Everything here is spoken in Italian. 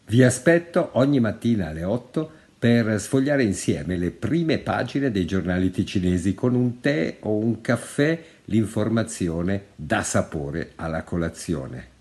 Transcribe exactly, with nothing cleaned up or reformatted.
Vi aspetto ogni mattina alle otto per sfogliare insieme le prime pagine dei giornali ticinesi con un tè o un caffè, l'informazione dà sapore alla colazione.